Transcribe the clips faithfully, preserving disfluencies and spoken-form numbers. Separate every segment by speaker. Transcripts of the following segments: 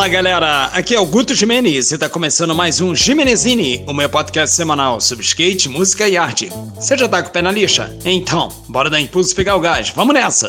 Speaker 1: Fala galera, aqui é o Guto Jimenez e está começando mais um Jimenezini, o meu podcast semanal sobre skate, música e arte. Você já tá com o pé na lixa? Então, bora dar impulso e pegar o gás, vamos nessa!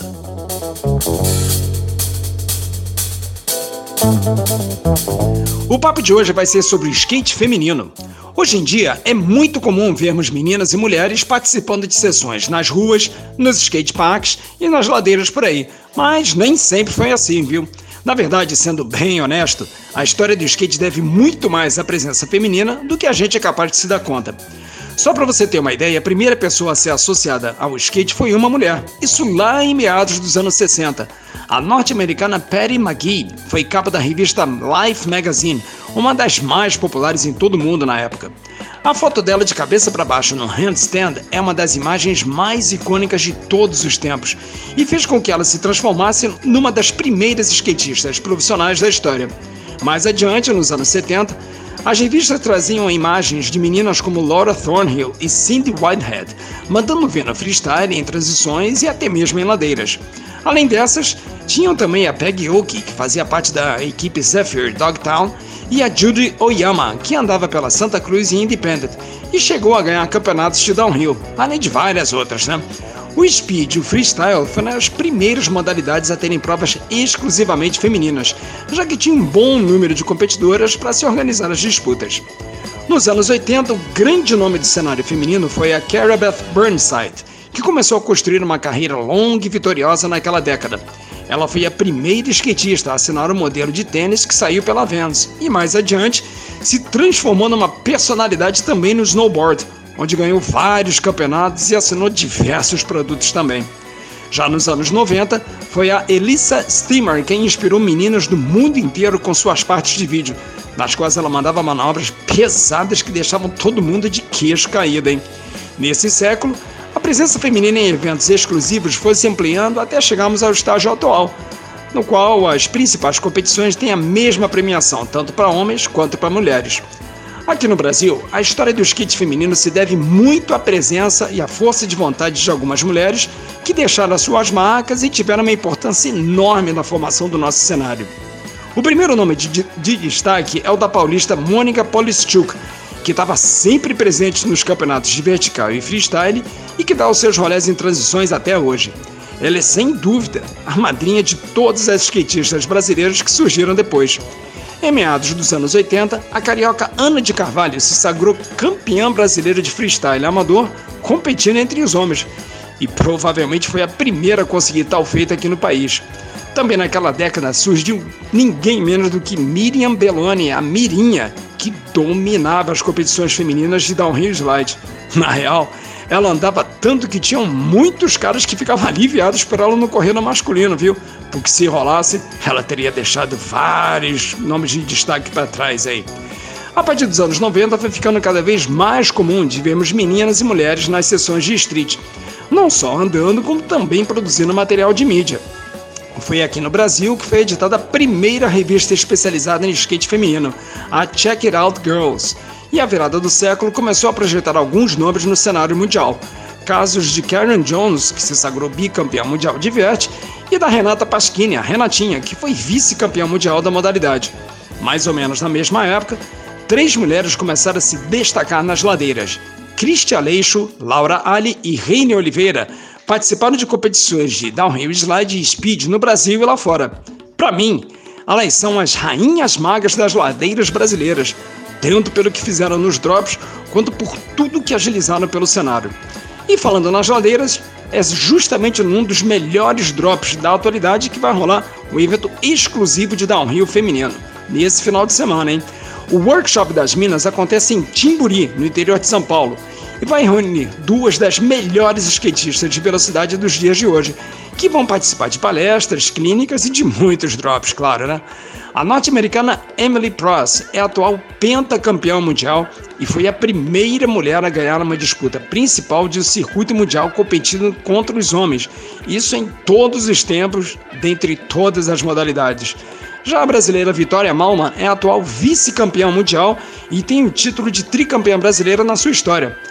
Speaker 1: O papo de hoje vai ser sobre skate feminino. Hoje em dia é muito comum vermos meninas e mulheres participando de sessões nas ruas, nos skateparks e nas ladeiras por aí, mas nem sempre foi assim, viu? Na verdade, sendo bem honesto, a história do skate deve muito mais à presença feminina do que a gente é capaz de se dar conta. Só para você ter uma ideia, a primeira pessoa a ser associada ao skate foi uma mulher, isso lá em meados dos anos sessenta. A norte-americana Patty McGee foi capa da revista Life Magazine, uma das mais populares em todo o mundo na época. A foto dela de cabeça para baixo no handstand é uma das imagens mais icônicas de todos os tempos e fez com que ela se transformasse numa das primeiras skatistas profissionais da história. Mais adiante, nos anos setenta, as revistas traziam imagens de meninas como Laura Thornhill e Cindy Whitehead, mandando ver no freestyle, em transições e até mesmo em ladeiras. Além dessas, tinham também a Peggy Oki, que fazia parte da equipe Zephyr Dogtown, e a Judy Oyama, que andava pela Santa Cruz e Independent, e chegou a ganhar campeonatos de downhill, além de várias outras, né? O speed e o freestyle foram as primeiras modalidades a terem provas exclusivamente femininas, já que tinha um bom número de competidoras para se organizar as disputas. Nos anos oitenta, o grande nome do cenário feminino foi a Cara Beth Burnside, que começou a construir uma carreira longa e vitoriosa naquela década. Ela foi a primeira skatista a assinar o modelo de tênis que saiu pela Vans e, mais adiante, se transformou numa personalidade também no snowboard, onde ganhou vários campeonatos e assinou diversos produtos também. Já nos anos noventa, foi a Elissa Steamer quem inspirou meninas do mundo inteiro com suas partes de vídeo, nas quais ela mandava manobras pesadas que deixavam todo mundo de queixo caído, hein? Nesse século, a presença feminina em eventos exclusivos foi se ampliando até chegarmos ao estágio atual, no qual as principais competições têm a mesma premiação, tanto para homens quanto para mulheres. Aqui no Brasil, a história do skate feminino se deve muito à presença e à força de vontade de algumas mulheres que deixaram as suas marcas e tiveram uma importância enorme na formação do nosso cenário. O primeiro nome de, de, de destaque é o da paulista Mônica Polischuk, que estava sempre presente nos campeonatos de vertical e freestyle e que dá os seus rolés em transições até hoje. Ela é, sem dúvida, a madrinha de todas as skatistas brasileiras que surgiram depois. Em meados dos anos oitenta, a carioca Ana de Carvalho se sagrou campeã brasileira de freestyle amador, competindo entre os homens, e provavelmente foi a primeira a conseguir tal feito aqui no país. Também naquela década surgiu ninguém menos do que Miriam Belloni, a Mirinha, que dominava as competições femininas de downhill slide. Na real, ela andava tanto que tinham muitos caras que ficavam aliviados por ela não correr no masculino, viu? Porque se rolasse, ela teria deixado vários nomes de destaque para trás aí. A partir dos anos noventa, foi ficando cada vez mais comum de vermos meninas e mulheres nas sessões de street, não só andando, como também produzindo material de mídia. Foi aqui no Brasil que foi editada a primeira revista especializada em skate feminino, a Check It Out Girls, e a virada do século começou a projetar alguns nomes no cenário mundial. Casos de Karen Jones, que se sagrou bicampeã mundial de vert, e da Renata Pasquini, a Renatinha, que foi vice-campeã mundial da modalidade. Mais ou menos na mesma época, três mulheres começaram a se destacar nas ladeiras. Cristi Aleixo, Laura Ali e Reine Oliveira participaram de competições de downhill slide e speed no Brasil e lá fora. Para mim, elas são as rainhas magas das ladeiras brasileiras, tanto pelo que fizeram nos drops, quanto por tudo que agilizaram pelo cenário. E falando nas ladeiras, é justamente num dos melhores drops da atualidade que vai rolar um evento exclusivo de downhill feminino, nesse final de semana, hein? O Workshop das Minas acontece em Timburi, no interior de São Paulo, e vai reunir duas das melhores skatistas de velocidade dos dias de hoje, que vão participar de palestras, clínicas e de muitos drops, claro, né? A norte-americana Emily Pross é a atual pentacampeã mundial e foi a primeira mulher a ganhar uma disputa principal de um circuito mundial competindo contra os homens, isso em todos os tempos, dentre todas as modalidades. Já a brasileira Vitória Malman é a atual vice-campeã mundial e tem o título de tricampeã brasileira na sua história.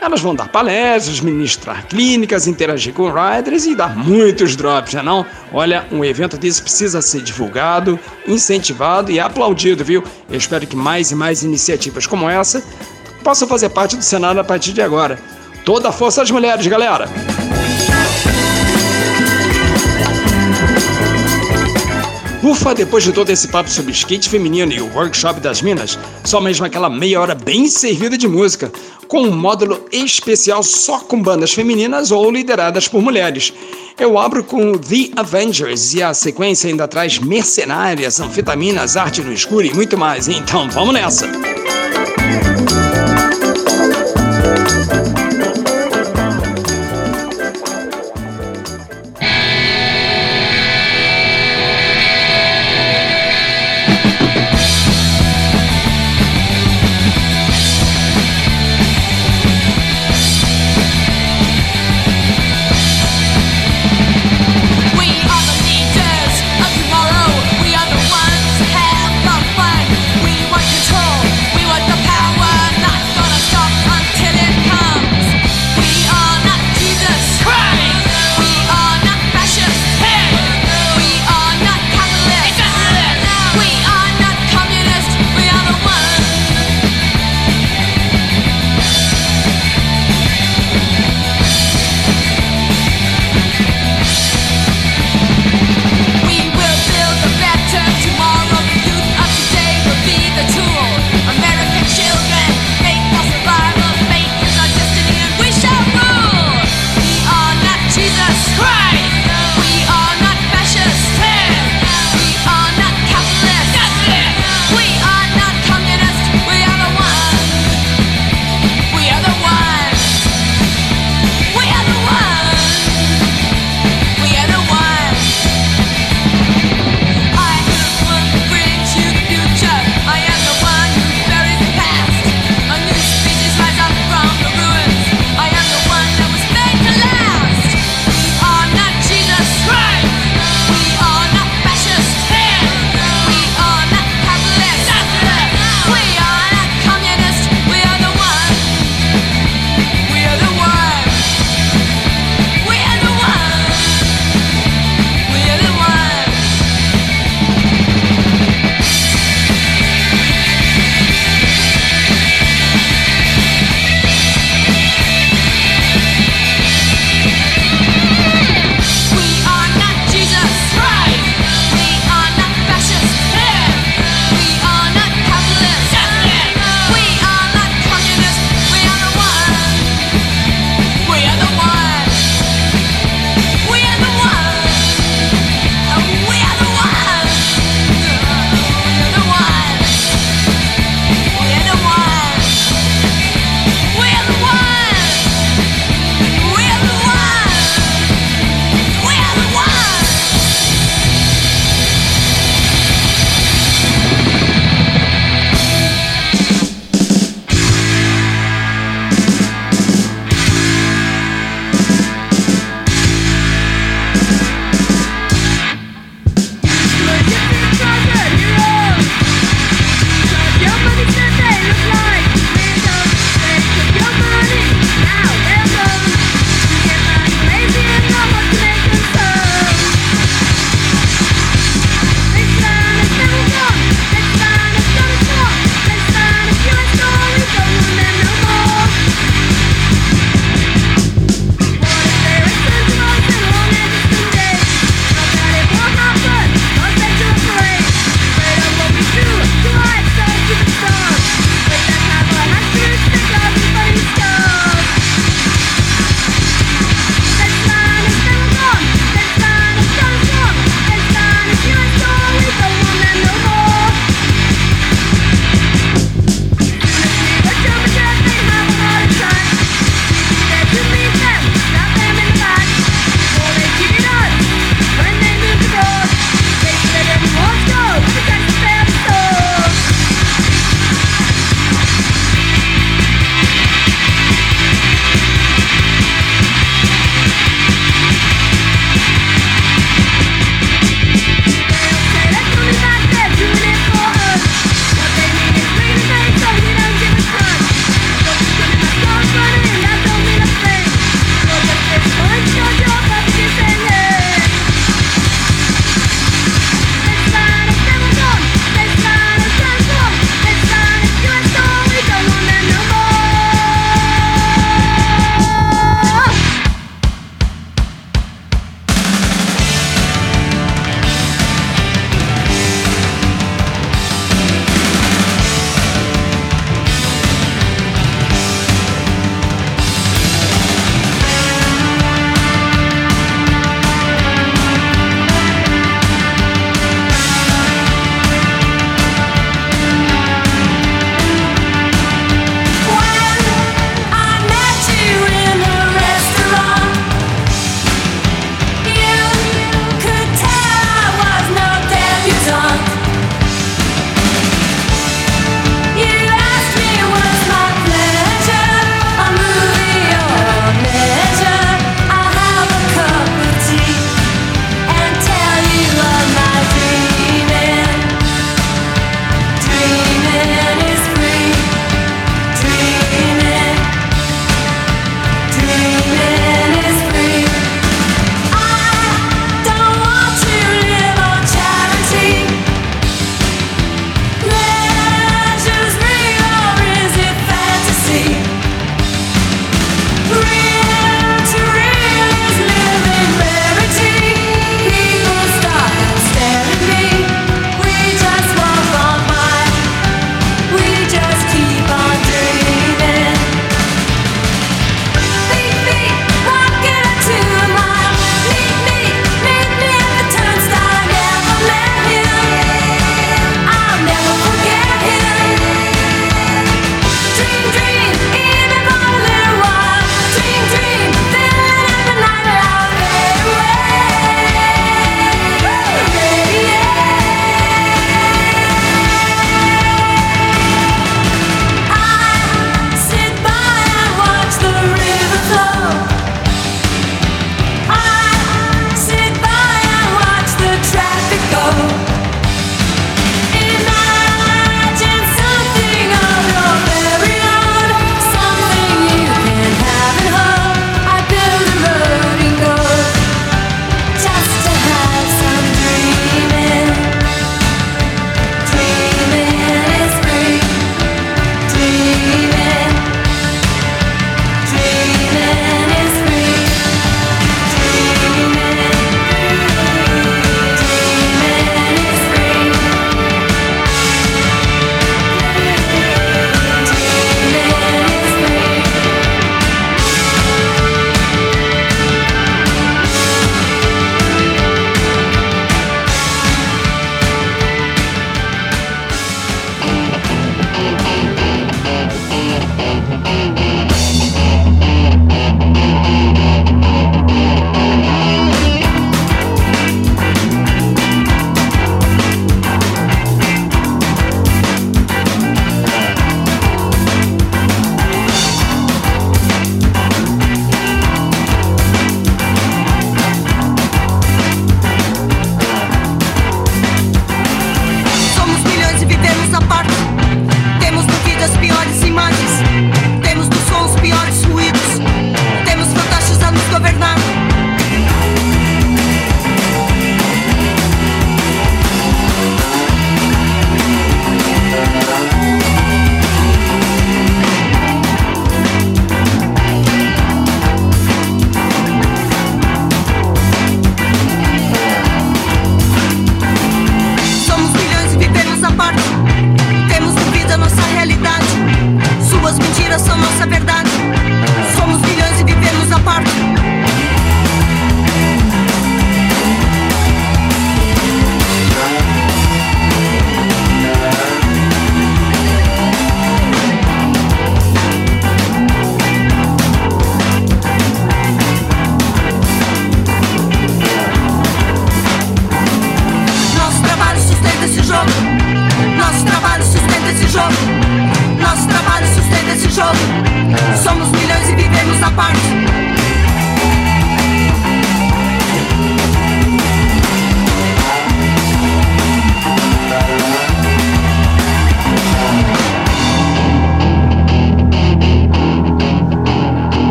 Speaker 1: Elas vão dar palestras, ministrar clínicas, interagir com riders e dar muitos drops, né não? Olha, um evento desse precisa ser divulgado, incentivado e aplaudido, viu? Eu espero que mais e mais iniciativas como essa possam fazer parte do cenário a partir de agora. Toda a força às mulheres, galera! Ufa, depois de todo esse papo sobre skate feminino e o workshop das minas, só mesmo aquela meia hora bem servida de música, com um módulo especial só com bandas femininas ou lideradas por mulheres. Eu abro com The Avengers e a sequência ainda traz mercenárias, anfetaminas, arte no escuro e muito mais. Então vamos nessa!
Speaker 2: We want control, we want the power.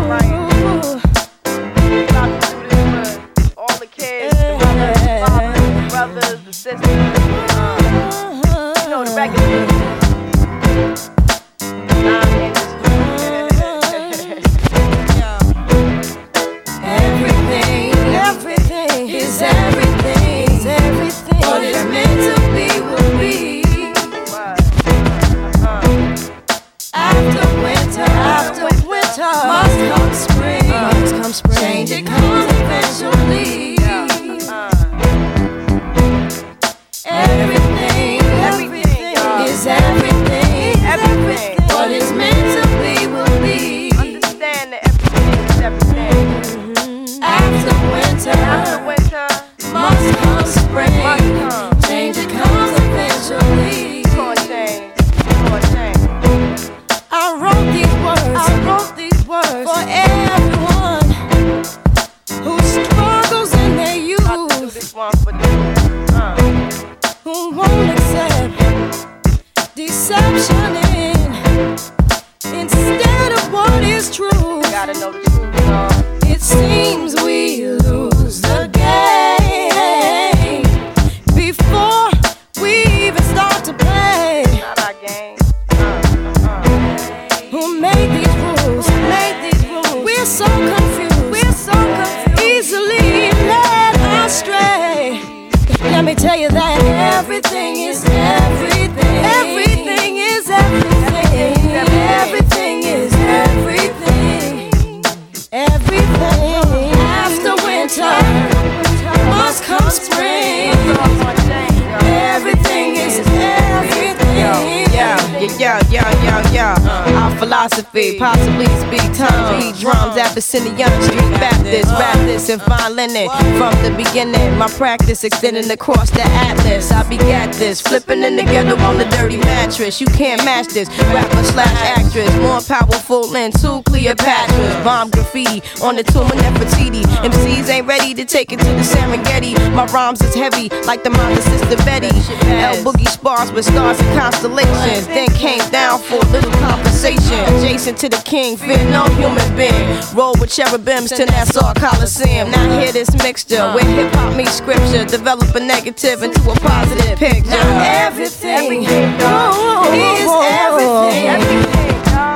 Speaker 2: Possibly speak tongues, beat drums, Abyssinian Street Baptist, rap this and fine linen. From the beginning, my practice extending across the atlas. I begat this, flipping in the ghetto on the dirty mattress. You can't match this, rapper slash actress, more powerful than two Cleopatras. Bomb graffiti on the tomb of Nefertiti. M Cs ain't ready to take it to the Serengeti. My rhymes is heavy like the mind of Sister Betty. L Boogie spars with stars and constellations. Then came down for a little conversation. Adjacent to the king, fear no human being. Roll with cherubims to Nassau Coliseum. Now hear this mixture where hip hop meets scripture. Develop a negative into a positive picture.
Speaker 3: Now everything, everything oh, is everything. everything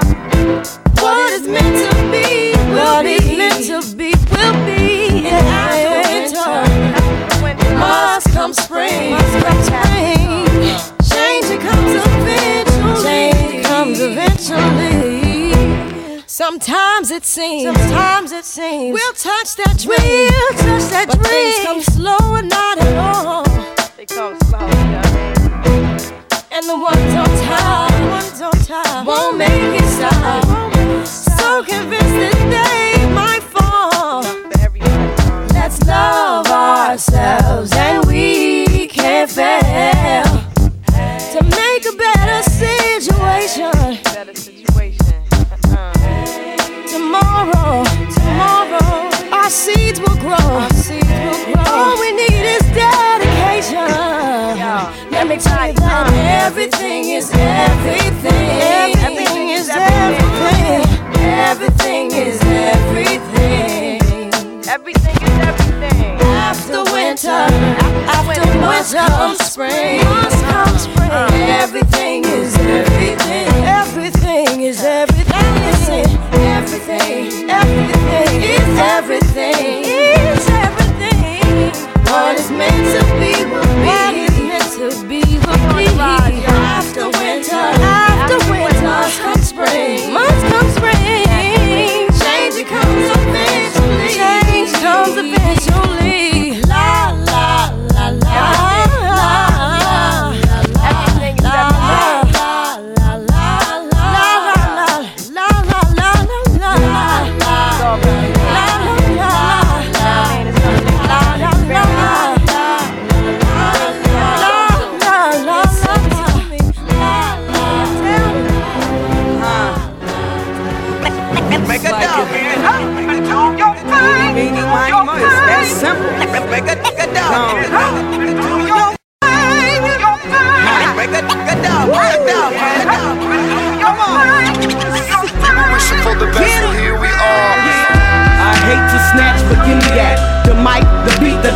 Speaker 3: what is meant to be will what be. Is meant to be will be. And after winter, must come spring. Must come spring. Change it comes eventually. Change it comes eventually. Sometimes it seems, sometimes it seems we'll touch that dream, we'll touch that but dream. Things come slow and not at all. They come slow, yeah. And the ones on top, the ones on top won't make it stop. So convinced that they might fall. Let's love ourselves and we can't fail to make a better situation. Better situation. Tomorrow, tomorrow, our seeds will grow. Our seeds will grow. All we need is dedication. Let me tell you that everything is everything. Everything is everything. Everything is everything. Everything is everything. After winter, after winter comes spring. Must come spring. Everything is everything. Everything is everything. Everything, everything is everything. Is everything. What is meant to be will be. What is meant to be will be. After winter, after winter, must come spring. Must come spring. Change it comes eventually. Change comes eventually. La la la la.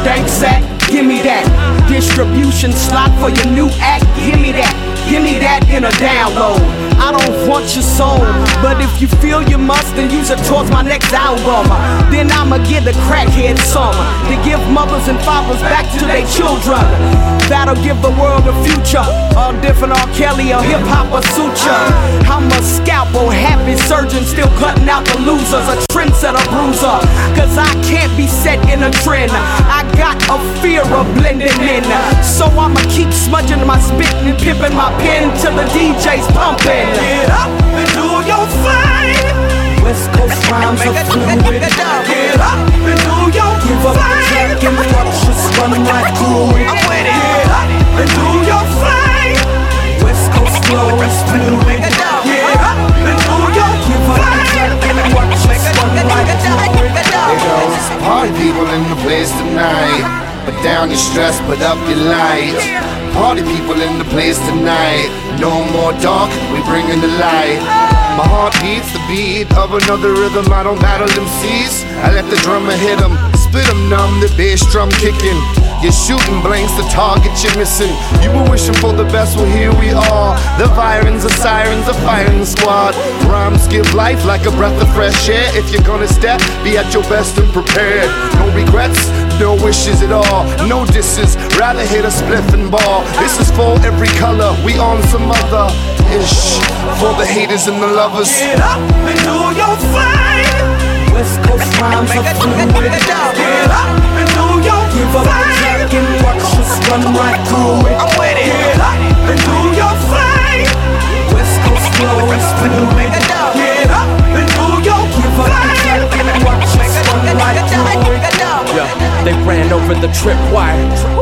Speaker 4: dank sack, give me that. Distribution slot for your new act, give me that. Give me that in a download. I don't want your soul, but if you feel you must, then use it towards my next album. Then I'ma give the crackhead some to give mothers and fathers back to their children. That'll give the world a future. All different R. Kelly or hip hop or suture. I'm a scalpel, happy surgeon, still cutting out the losers. A trendsetter bruiser, cause I can't be set in a trend. I got a fear of blending in, so I'ma keep smudging my spit and pimping my pen till the D J's pumping.
Speaker 3: Get up and do your thing.
Speaker 4: West Coast rhymes are fluid.
Speaker 3: Get up and do your thing.
Speaker 4: Give up the track and watch us run right through it.
Speaker 3: I'm with it. Get up and do your thing.
Speaker 4: West Coast flow is fluid.
Speaker 3: Get up and do your thing.
Speaker 4: Give up the track and watch us run right through it.
Speaker 5: There goes party people in the place tonight. But down your stress, put up your light. Party people in the place tonight. No more dark, we bring in the light. My heart beats the beat of another rhythm. I don't battle M Cs, I let the drummer hit them. Spit them numb, the bass drum kicking. You're shooting blanks, the target you're missing. You were wishing for the best, well here we are. The virins, the sirens, the firing squad. Rhymes give life like a breath of fresh air. If you're gonna step, be at your best and prepared. No regrets, no wishes at all. No disses, rather hit a spliff and ball. This is for every color, we on some other ish. For the haters and the lovers.
Speaker 3: Get up and do your thing.
Speaker 4: West Coast rhymes are fluid.
Speaker 3: Get up and do your thing.
Speaker 4: Give up the track and watch us run right through it.
Speaker 3: I'm with it. Get up and do your thing.
Speaker 4: West Coast flow is fluid.
Speaker 3: Get up and do your thing.
Speaker 4: Give up the track and watch us run right through it.
Speaker 6: Yeah, they ran over the tripwire.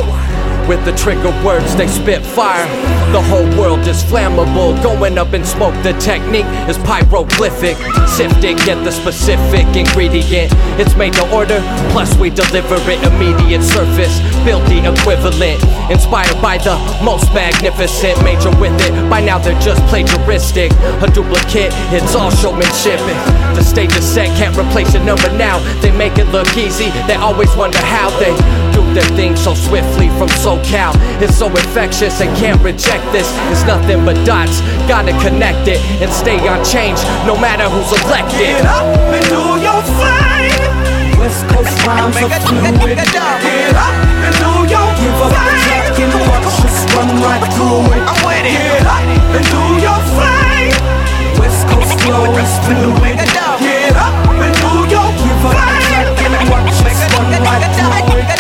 Speaker 6: With the trigger words they spit fire. The whole world is flammable. Going up in smoke, the technique is pyroglyphic. Sift it, get the specific ingredient. It's made to order, plus we deliver it immediate surface. Build the equivalent. Inspired by the most magnificent. Major with it, by now they're just plagiaristic. A duplicate, it's all showmanship. The stage is set, can't replace your number now. They make it look easy, they always wonder how they do their thing so swiftly from SoCal. It's so infectious, they can't reject this. It's nothing but dots, gotta connect it and stay on change, no matter who's elected.
Speaker 3: Get up and do your thing.
Speaker 4: West Coast rhymes are fluid.
Speaker 3: Get up and do your thing.
Speaker 4: Give up the track and watch us run right through it.
Speaker 3: I'm with it. Get up and do your thing.
Speaker 4: West Coast flow is fluid.
Speaker 3: Get up and do your thing.
Speaker 4: Give up the track and watch us run right through it.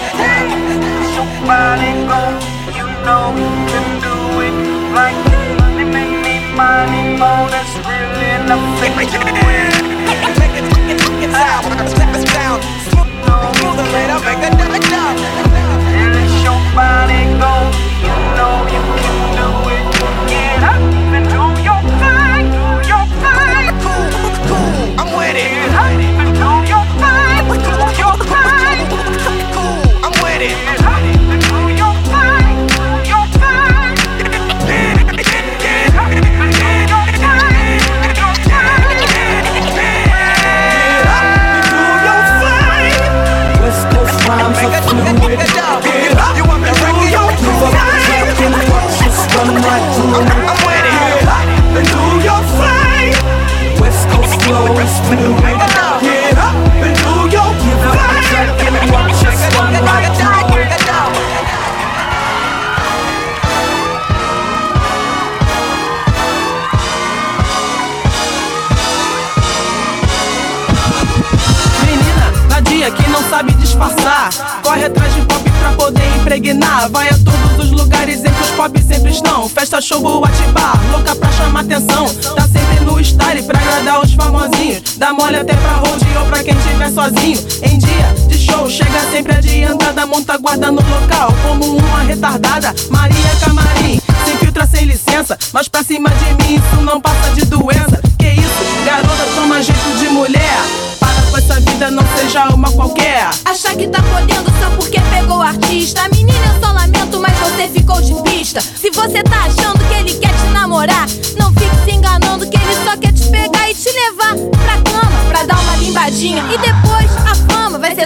Speaker 7: Somebody go, you know you can do it like money, make me money more. That's really nothing to it.
Speaker 3: It's out, it's down, smooth and later, make it down.
Speaker 7: And it's your body go, you know you can do it. Get up and do your thing, do your thing.
Speaker 3: Cool, cool, I'm with it.
Speaker 7: Get up and do your thing, do your thing.
Speaker 3: Cool, I'm with it.
Speaker 7: Get up and do your thing, do your thing. Get up and do your thing, do your thing.
Speaker 4: West Coast rhymes are fluid.
Speaker 3: Get up, you want me to wreck it?
Speaker 4: Give up the track and watch us run right through it.
Speaker 3: I'm with it. Get up and do your thing.
Speaker 4: West Coast flow is fluid.
Speaker 3: Get up and do your thing.
Speaker 4: Give up the track and watch us run right through it.
Speaker 8: Que não sabe disfarçar, corre atrás de pop pra poder impregnar. Vai a todos os lugares em que os pop sempre estão. Festa, show, boate, bar, louca pra chamar atenção. Tá sempre no style pra agradar os famosinhos. Dá mole até pra road ou pra quem tiver sozinho. Em dia de show, chega sempre adiantada. Monta guarda no local, como uma retardada. Maria Camarim, sem filtro, sem licença. Mas pra cima de mim isso não passa de doença. Que isso, garota, toma jeito de mulher. Com essa vida não seja uma qualquer.
Speaker 9: Achar que tá podendo só porque pegou o artista. Menina, eu só lamento, mas você ficou de pista. Se você tá achando que ele quer te namorar, não fique se enganando que ele só quer te pegar e te levar pra cama, pra dar uma limbadinha. E depois a fama vai ser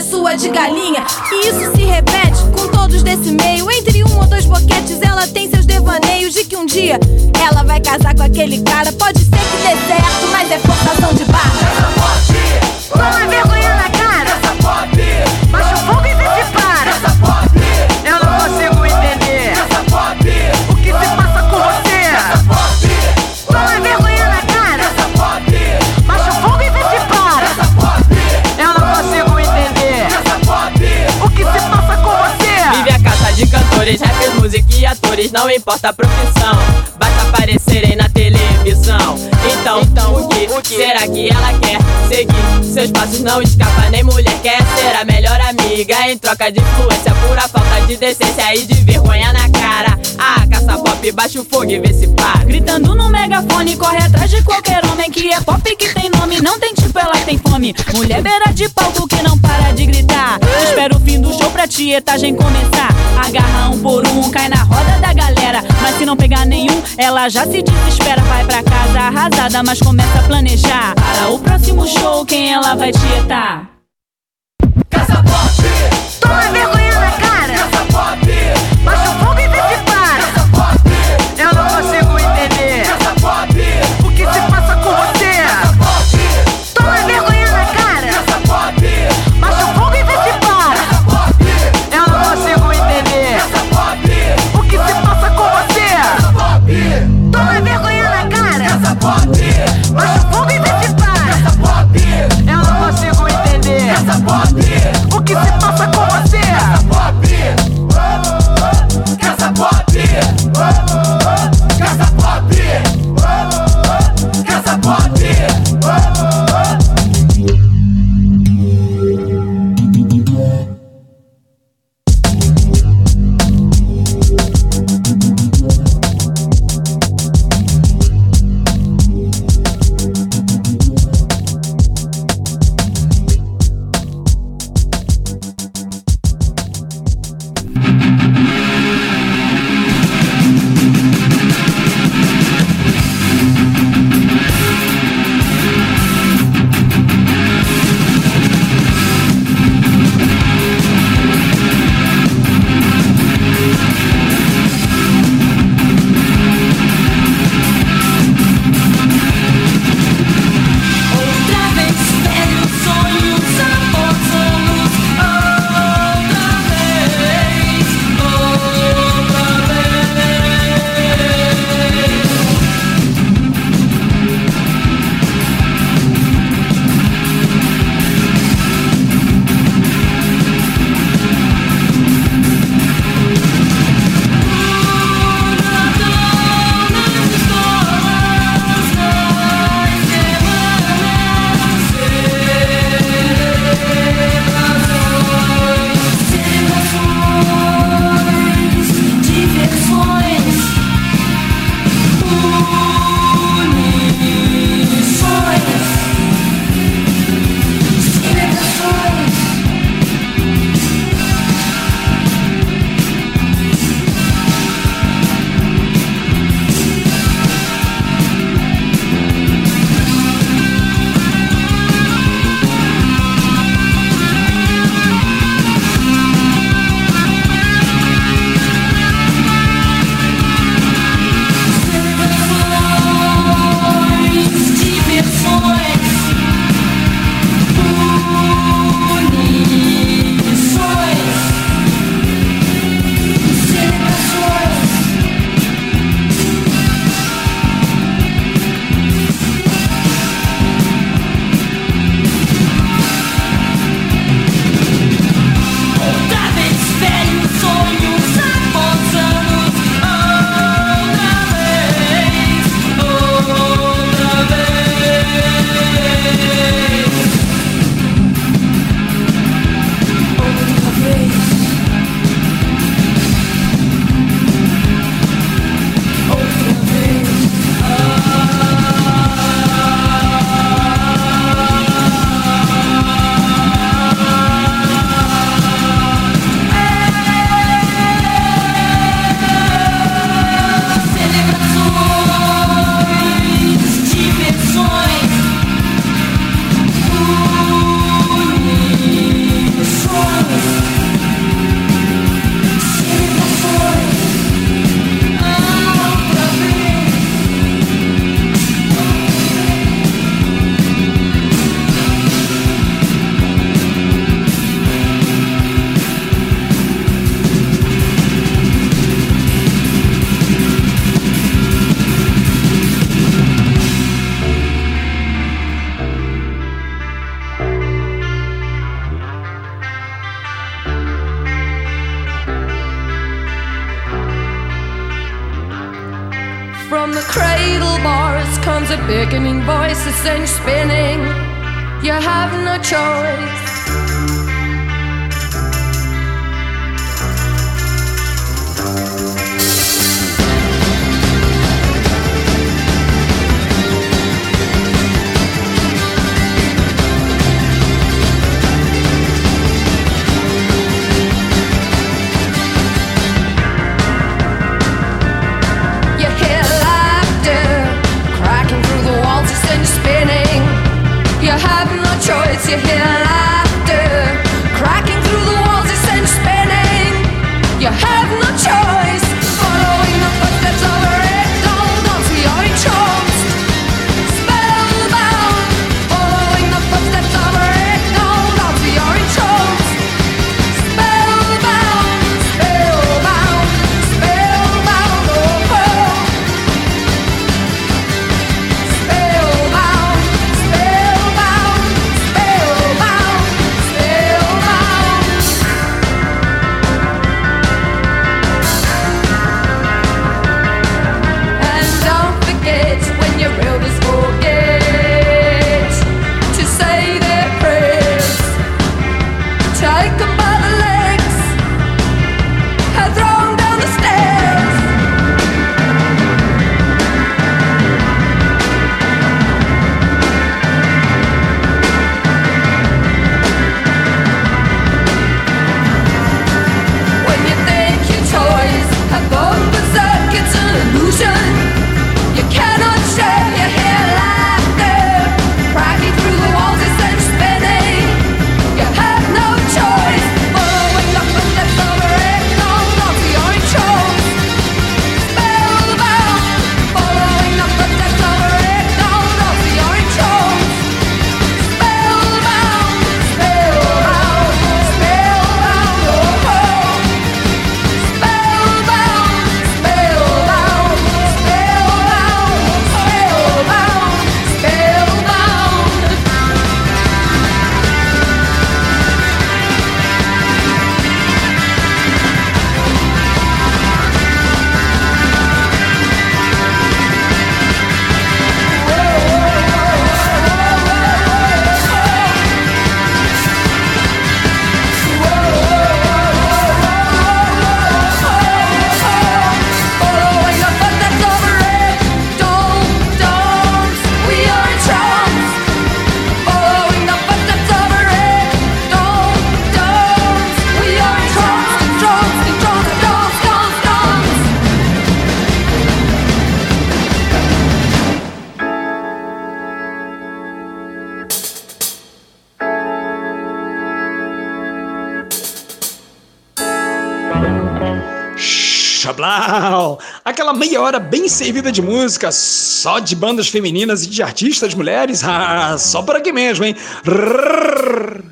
Speaker 9: é sua de galinha. E isso se repete com todos desse meio. Entre um ou dois boquetes ela tem seus devaneios de que um dia ela vai casar com aquele cara. Pode ser que dê certo, mas é forçação de barra.
Speaker 7: Essa pode,
Speaker 3: toma vergonha na cara.
Speaker 7: Essa pode,
Speaker 3: baixa o fogo e vê se para.
Speaker 7: Essa pode,
Speaker 3: eu não consigo entender.
Speaker 7: Essa pode,
Speaker 3: o que se passa com você.
Speaker 7: Essa pode,
Speaker 3: toma vergonha na cara.
Speaker 7: Essa pode,
Speaker 3: baixa o fogo e vê se para.
Speaker 7: Essa pode,
Speaker 3: eu não consigo entender.
Speaker 7: Essa pode,
Speaker 3: o que se passa com você.
Speaker 10: Vive a caça de cantores, rappers, música e atores, não importa a profissão, basta aparecerem na televisão. Então, então o, que, o que será que ela quer? Seguir seus passos, não escapa, nem mulher quer ser a melhor amiga. Em troca de influência, pura falta de decência e de vergonha na cara. Ah, caça pop, baixa o fogo e vê se para.
Speaker 8: Gritando no megafone, corre atrás de qualquer homem que é pop, que tem nome, não tem tipo, ela tem fome. Mulher beira de palco que não para de gritar. Espera o fim do show pra tietagem começar. Agarra um por um, cai na roda da galera. Mas se não pegar nenhum, ela já se desespera. Vai pra casa arrasada, mas começa a planejar para o próximo show, quem ela vai tietar.
Speaker 7: Essa pode,
Speaker 3: toma vergonha na cara.
Speaker 7: Essa pode,
Speaker 3: baixa o fogo e vê se para.
Speaker 7: Essa pode,
Speaker 3: eu não consigo entender.
Speaker 7: Essa pode,
Speaker 3: o que se passa com você.
Speaker 7: Essa pode,
Speaker 3: toma vergonha na cara.
Speaker 7: Essa pode,
Speaker 3: baixa o fogo e vê se para.
Speaker 7: Essa pode,
Speaker 3: eu não consigo entender.
Speaker 7: Essa pode,
Speaker 3: o que se passa com você.
Speaker 7: Essa pode,
Speaker 3: toma vergonha na cara.
Speaker 7: Essa pode,
Speaker 3: baixa o fogo e vê se para.
Speaker 7: Essa pode,
Speaker 3: eu não consigo entender.
Speaker 7: Essa pode,
Speaker 3: o que se passa com você.
Speaker 7: Essa pode, Essa pode, Essa pode, Essa pode.
Speaker 11: a beckoning voice that sends you spinning. You have no choice. You hear laughter cracking through the walls, it sends you spinning. You have no choice. Following the footsteps of a red dawn onto your entranced, spellbound. Following the footsteps of a red dawn onto your entranced, spellbound, spellbound, spellbound. Oh, oh. Spellbound, spellbound.
Speaker 1: Chablau! Aquela meia hora bem servida de música, só de bandas femininas e de artistas mulheres, ah, só por aqui mesmo, hein? Rrr.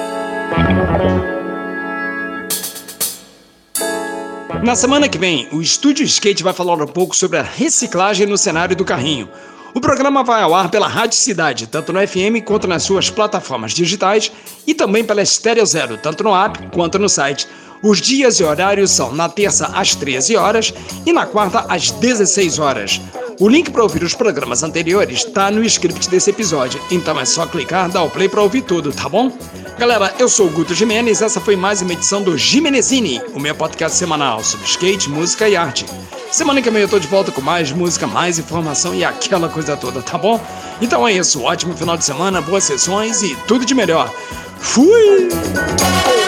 Speaker 1: Na semana que vem, o Estúdio Skate vai falar um pouco sobre a reciclagem no cenário do carrinho. O programa vai ao ar pela Rádio Cidade, tanto no F M quanto nas suas plataformas digitais e também pela Estéreo Zero, tanto no app quanto no site. Os dias e horários são na terça às treze horas e na quarta às dezesseis horas. O link para ouvir os programas anteriores está no script desse episódio, então é só clicar, dar o play para ouvir tudo, tá bom? Galera, eu sou o Guto Jimenez, essa foi mais uma edição do Jimenezini, o meu podcast semanal sobre skate, música e arte. Semana que vem eu tô de volta com mais música, mais informação e aquela coisa toda, tá bom? Então é isso, ótimo final de semana, boas sessões e tudo de melhor. Fui!